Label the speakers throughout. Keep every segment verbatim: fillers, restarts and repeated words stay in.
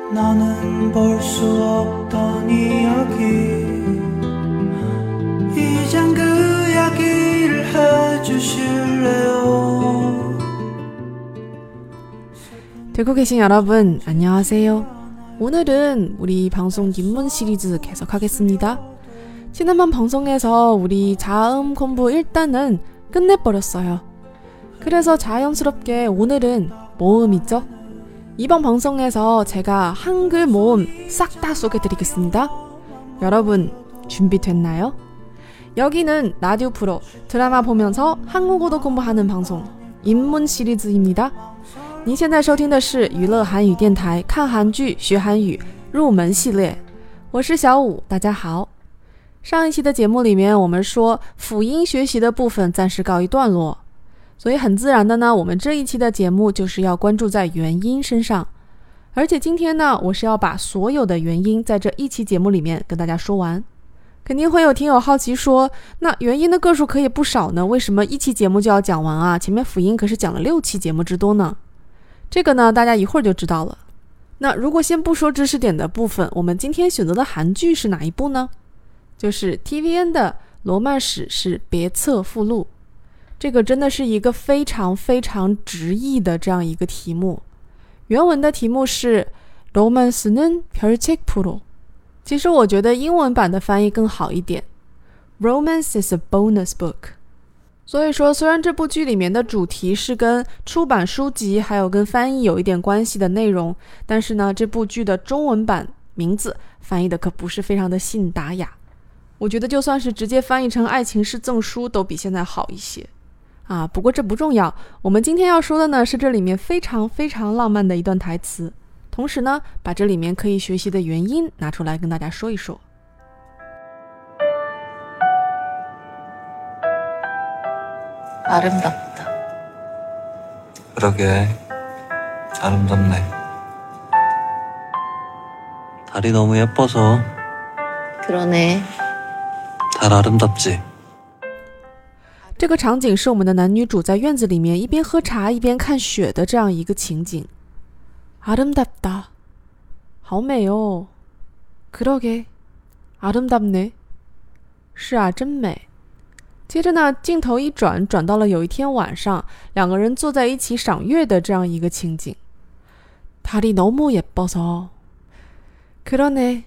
Speaker 1: 나는 볼 수 없던 이야기 이젠 그 이야기를 해주실래요?
Speaker 2: 듣고 계신 여러분 안녕하세요. 오늘은 우리 방송 입문 시리즈 계속하겠습니다. 지난번 방송에서 우리 자음 공부 일 단은 끝내버렸어요. 그래서 자연스럽게 오늘은 모음이죠. 이번 방송에서 제가 한글 모음 싹 다 소개해드리겠습니다. 여러분 준비됐나요? 여기는 라디오 프로 드라마 보면서 한국어도 공부하는 방송 입문 시리즈입니다.您现在收听的是娱乐韩语电台看韩剧学韩语入门系列，我是小五，大家好。上一期的节目里面我们说辅音学习的部分暂时告一段落，所以很自然的呢，我们这一期的节目就是要关注在元音身上。而且今天呢，我是要把所有的元音在这一期节目里面跟大家说完。肯定会有听友好奇说，那元音的个数可以不少呢，为什么一期节目就要讲完啊？前面辅音可是讲了六期节目之多呢。这个呢，大家一会儿就知道了。那如果先不说知识点的部分，我们今天选择的韩剧是哪一部呢？就是 T V N 的罗曼史是别册附录。这个真的是一个非常非常直译的这样一个题目。原文的题目是 로맨스는 별책 프로。 其实我觉得英文版的翻译更好一点， Romance is a bonus book。 所以说虽然这部剧里面的主题是跟出版书籍还有跟翻译有一点关系的内容，但是呢这部剧的中文版名字翻译的可不是非常的信达雅。我觉得就算是直接翻译成爱情是赠书都比现在好一些啊，不过这不重要，我们今天要说的呢是这里面非常非常浪漫的一段台词，同时呢把这里面可以学习的原因拿出来跟大家说一说。
Speaker 3: 아름답다.
Speaker 4: 그러게 아름답네. 달이 너무 예뻐서.
Speaker 3: 그러네.
Speaker 4: 달 아름답지.
Speaker 2: 这个场景是我们的男女主在院子里面一边喝茶一边看雪的这样一个情景。아름답다， 好美哦。그러게 아름답네， 是啊，真美。接着呢，镜头一转，转到了有一天晚上，两个人坐在一起赏月的这样一个情景。달이 너무 예뻐서。 그러네，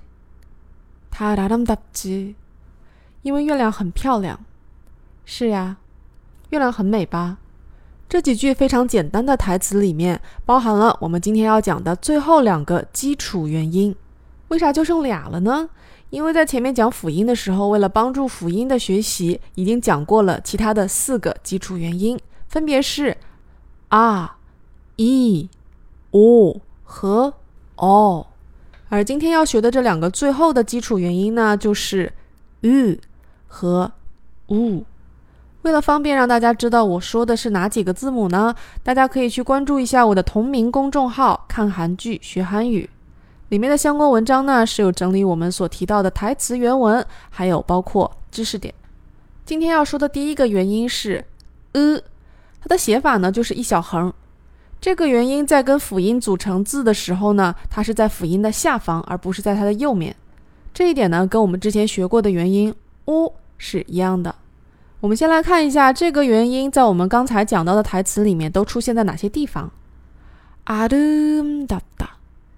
Speaker 2: 달 아름답지， 因为月亮很漂亮。是呀，月亮很美吧？这几句非常简单的台词里面包含了我们今天要讲的最后两个基础元音。为啥就剩俩了呢？因为在前面讲辅音的时候，为了帮助辅音的学习，已经讲过了其他的四个基础元音，分别是啊、이、오和어。而今天要学的这两个最后的基础元音呢，就是으和우。为了方便让大家知道我说的是哪几个字母呢，大家可以去关注一下我的同名公众号看韩剧学韩语，里面的相关文章呢是有整理我们所提到的台词原文，还有包括知识点。今天要说的第一个元音是으，它的写法呢就是一小横。这个元音在跟辅音组成字的时候呢，它是在辅音的下方，而不是在它的右面。这一点呢跟我们之前学过的元音오是一样的。我们先来看一下这个元音在我们刚才讲到的台词里面都出现在哪些地方。아름답다，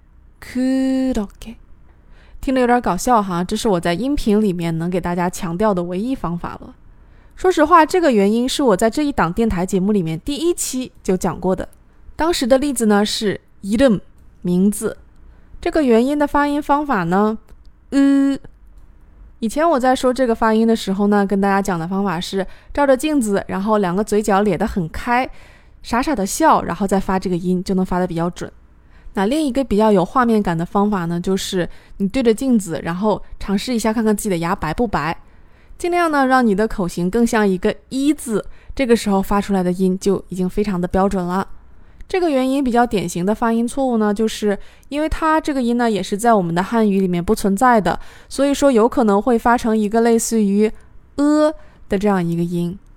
Speaker 2: 그렇게， 听着有点搞笑哈，这是我在音频里面能给大家强调的唯一方法了。说实话，这个元音是我在这一档电台节目里面第一期就讲过的。当时的例子呢是이름，名字。这个元音的发音方法呢，으。以前我在说这个发音的时候呢，跟大家讲的方法是照着镜子，然后两个嘴角咧得很开，傻傻的笑，然后再发这个音，就能发得比较准。那另一个比较有画面感的方法呢，就是你对着镜子，然后尝试一下看看自己的牙白不白，尽量呢让你的口型更像一个一字，这个时候发出来的音就已经非常的标准了。这个元音比较典型的发音错误呢，就是因为它这个音呢也是在我们的汉语里面不存在的，所以说有可能会发成一个类似于呃的这样一个音。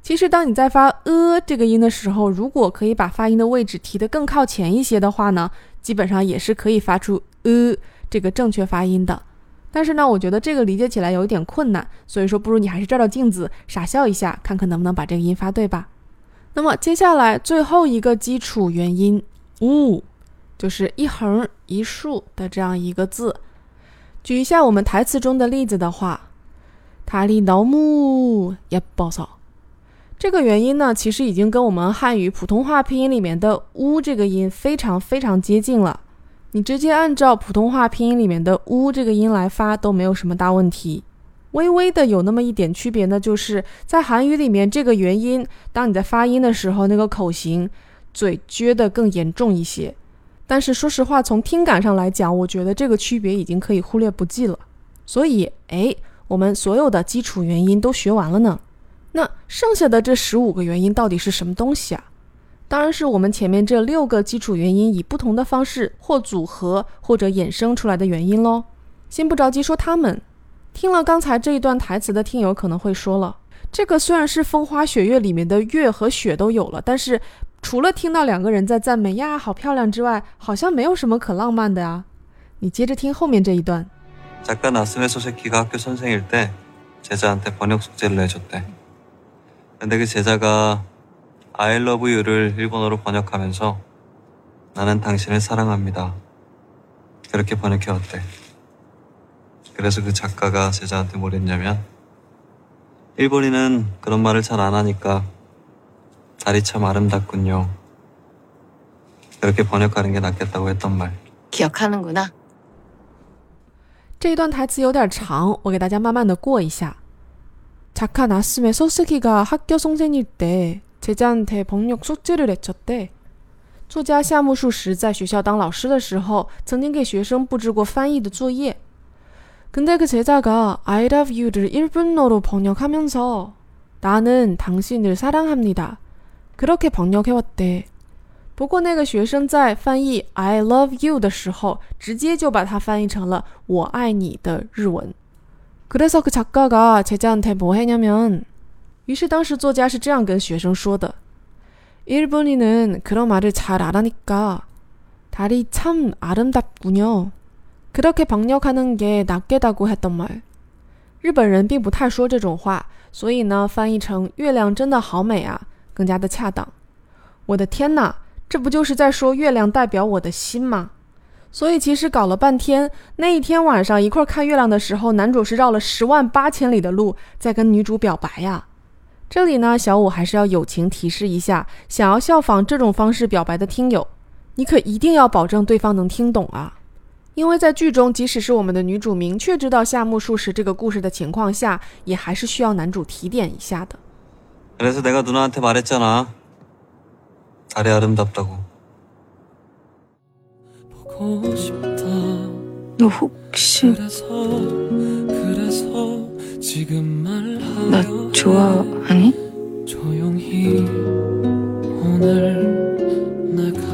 Speaker 2: 其实当你在发呃这个音的时候，如果可以把发音的位置提得更靠前一些的话呢，基本上也是可以发出呃这个正确发音的。但是呢，我觉得这个理解起来有一点困难，所以说不如你还是照照镜子傻笑一下，看看能不能把这个音发对吧。那么接下来最后一个基础元音우，就是一横一竖的这样一个字。举一下我们台词中的例子的话，다리 너무 예뻐서，这个元音呢，其实已经跟我们汉语普通话拼音里面的乌这个音非常非常接近了。你直接按照普通话拼音里面的乌这个音来发都没有什么大问题。微微的有那么一点区别呢，就是在韩语里面这个元音，当你在发音的时候，那个口型嘴撅得更严重一些。但是说实话，从听感上来讲，我觉得这个区别已经可以忽略不计了。所以，哎，我们所有的基础元音都学完了呢。那剩下的这十五个元音到底是什么东西啊？当然是我们前面这六个基础元音以不同的方式或组合或者衍生出来的元音咯。先不着急说它们，听了刚才这一段台词的听友可能会说了，这个虽然是风花雪月里面的月和雪都有了，但是除了听到两个人在赞美呀好漂亮之外，好像没有什么可浪漫的啊。你接着听后面这一段。
Speaker 4: 작가 나스메 소세키가 학교 선생일 때 제자한테 번역 숙제를 내줬대. 근데 그 제자가 I love you를 일본어로 번역하면서 나는 당신을 사랑합니다. 그렇게 번역해왔대. 그래서 그 작가가 제자한테 뭘 했냐면 일본인은 그런 말을 잘 안 하니까 달이 참 아름답군요. 그렇게 번역하는 게 낫겠다고 했던 말.
Speaker 3: 기억하는구나.
Speaker 2: 这一段台词有点长，我给大家慢慢的过一下。작가 나스메 소스키가 학교 선생일 때 제자한테 번역 숙제를 내줬대。作家夏目漱石在学校当老师的时候，曾经给学生布置过翻译的作业。근데 그 제자가 I love you를 일본어로 번역하면서 나는 당신을 사랑합니다. 그렇게 번역해왔대。不过那个学生在翻译 I love you 的时候，直接就把它翻译成了我爱你的日文。그래서 그 작가가 제자한테 뭐 했냐면，于是当时作家是这样跟学生说的， 일본인은 그런 말을 잘 안 하니까 달이 참 아름답군요. 그렇게 번역하는 게 낫겠다고 했던 말。 日本人并不太说这种话，所以呢翻译成月亮真的好美啊，更加的恰当。我的天哪，这不就是在说月亮代表我的心吗？所以其实搞了半天，那一天晚上一块看月亮的时候，男主是绕了十万八千里的路在跟女主表白呀。这里呢，小五还是要友情提示一下，想要效仿这种方式表白的听友，你可一定要保证对方能听懂啊。因为在剧中，即使是我们的女主明确知道夏目漱石这个故事的情况下，也还是需要男主提点一下的。
Speaker 4: 그래서 내가 누나한테 말했잖아. 달이 아름답다고.
Speaker 1: 보고 싶다.
Speaker 3: 너 혹시
Speaker 1: 그래서 그래서 지금
Speaker 3: 나
Speaker 1: 말하려
Speaker 3: 좋아하니?
Speaker 1: 조용히 오늘 내가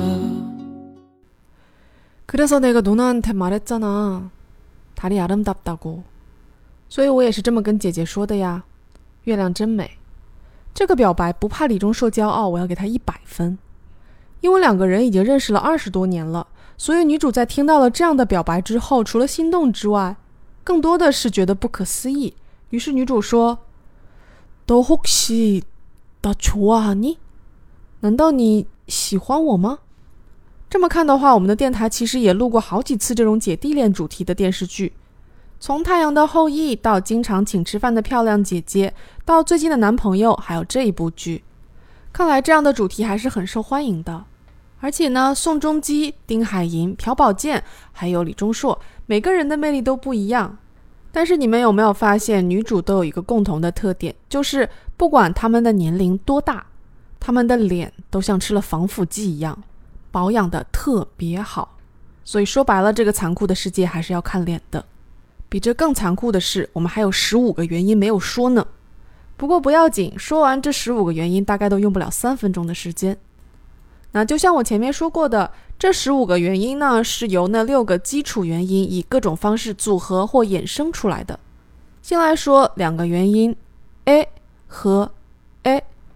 Speaker 2: 그래서 내가 누나한테 말했잖아. 달이 아름답다고. 所以我也是这么跟姐姐说的呀，月亮真美。这个表白不怕李钟硕骄傲，我要给他一百分。因为两个人已经认识了二十多年了，所以女主在听到了这样的表白之后，除了心动之外，更多的是觉得不可思议。于是女主说：“너 혹시 나 좋아하니？难道你喜欢我吗？”这么看的话，我们的电台其实也录过好几次这种姐弟恋主题的电视剧，从《太阳的后裔》到经常请吃饭的漂亮姐姐，到最近的男朋友，还有这一部剧。看来这样的主题还是很受欢迎的。而且呢，宋仲基、丁海寅、朴宝剑还有李钟硕，每个人的魅力都不一样。但是你们有没有发现，女主都有一个共同的特点，就是不管他们的年龄多大，他们的脸都像吃了防腐剂一样，保养的特别好。所以说白了，这个残酷的世界还是要看脸的。比这更残酷的是，我们还有十五个原因没有说呢。不过不要紧，说完这十五个原因大概都用不了三分钟的时间。那就像我前面说过的，这十五个原因呢，是由那六个基础原因以各种方式组合或衍生出来的。先来说两个原因 A 和 A，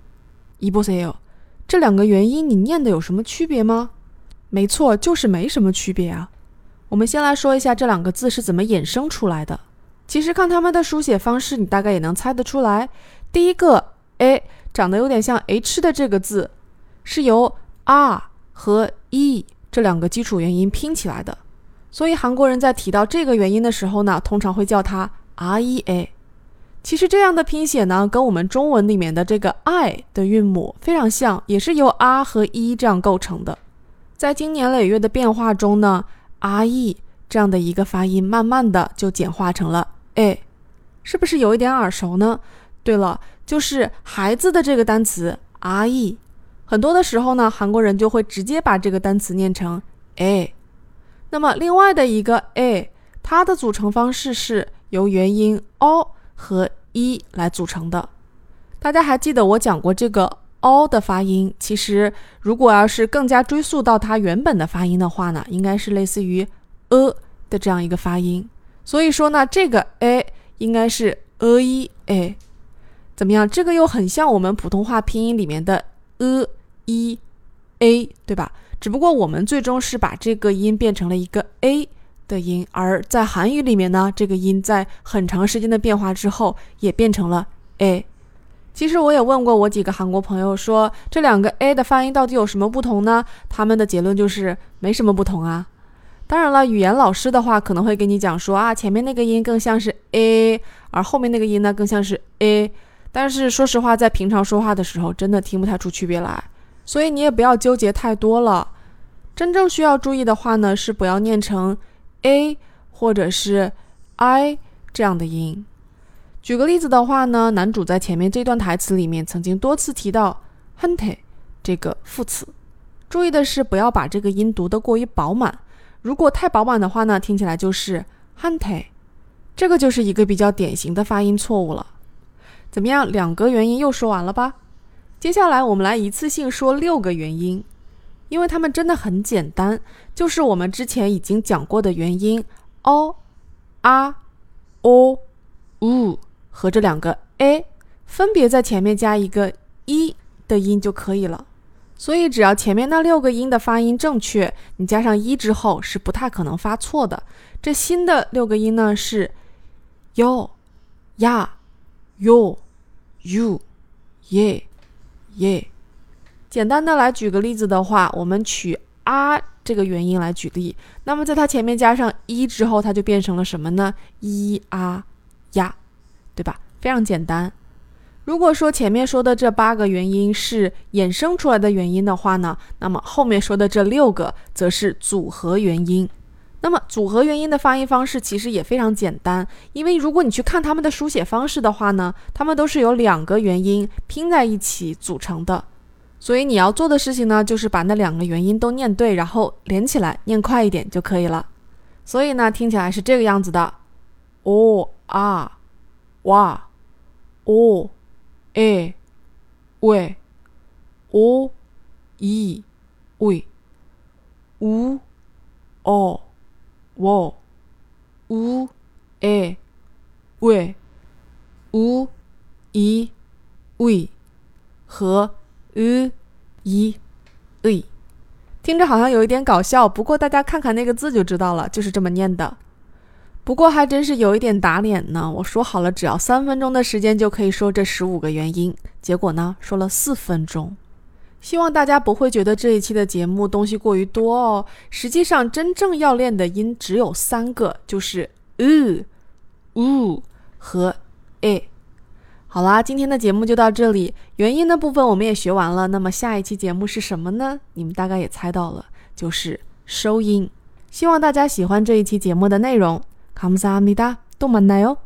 Speaker 2: 이보세요，这两个元音你念的有什么区别吗？没错，就是没什么区别啊。我们先来说一下这两个字是怎么衍生出来的。其实看他们的书写方式，你大概也能猜得出来。第一个 a 长得有点像 h 的这个字，是由 r 和 e 这两个基础元音拼起来的。所以韩国人在提到这个元音的时候呢，通常会叫它 r e a。其实这样的拼写呢，跟我们中文里面的这个 i 的韵母非常像，也是由 r 和 e 这样构成的。在经年累月的变化中呢， r e 这样的一个发音慢慢的就简化成了 a， 是不是有一点耳熟呢？对了，就是孩子的这个单词 r e， 很多的时候呢，韩国人就会直接把这个单词念成 a。 那么另外的一个 a， 它的组成方式是由元音 o 和 e 来组成的。大家还记得我讲过这个 o 的发音，其实如果要是更加追溯到它原本的发音的话呢，应该是类似于 e 的这样一个发音。所以说呢，这个 a 应该是 e a。 怎么样，这个又很像我们普通话拼音里面的 e e a， 对吧？只不过我们最终是把这个音变成了一个 a 的音，而在韩语里面呢，这个音在很长时间的变化之后也变成了 a。 其实我也问过我几个韩国朋友说，这两个 a 的发音到底有什么不同呢？他们的结论就是没什么不同啊。当然了，语言老师的话可能会跟你讲说啊，前面那个音更像是 a， 而后面那个音呢更像是 a。 但是说实话，在平常说话的时候真的听不太出区别来，所以你也不要纠结太多了。真正需要注意的话呢，是不要念成 a 或者是 i 这样的音。举个例子的话呢，男主在前面这段台词里面曾经多次提到 한테 这个副词，注意的是不要把这个音读得过于饱满，如果太饱满的话呢，听起来就是 한테， 这个就是一个比较典型的发音错误了。怎么样，两个元音又说完了吧？接下来我们来一次性说六个元音，因为它们真的很简单，就是我们之前已经讲过的元音 o、a、o、u 和这两个 a， 分别在前面加一个 e 的音就可以了。所以只要前面那六个音的发音正确，你加上一之后是不太可能发错的。这新的六个音呢是 yo、ya、yo、you、ye、ye。简单的来举个例子的话，我们取 a 这个元音来举例，那么在它前面加上一之后，它就变成了什么呢？一啊呀，对吧？非常简单。如果说前面说的这八个元音是衍生出来的元音的话呢，那么后面说的这六个则是组合元音。那么组合元音的发音方式其实也非常简单，因为如果你去看它们的书写方式的话呢，它们都是由两个元音拼在一起组成的。所以你要做的事情呢，就是把那两个元音都念对，然后连起来念快一点就可以了。所以呢，听起来是这个样子的 o、a、wa、o、e、we、o、i、we、u、o、wo、u、e、we、u、i、we 和 u、i、e。听着好像有一点搞笑，不过大家看看那个字就知道了，就是这么念的。不过还真是有一点打脸呢，我说好了只要三分钟的时间就可以说这十五个元音，结果呢说了四分钟。希望大家不会觉得这一期的节目东西过于多哦，实际上真正要练的音只有三个，就是 u、u 和 e。好啦，今天的节目就到这里，元音的部分我们也学完了，那么下一期节目是什么呢？你们大概也猜到了，就是收音。希望大家喜欢这一期节目的内容。감사합니다。또 만나요。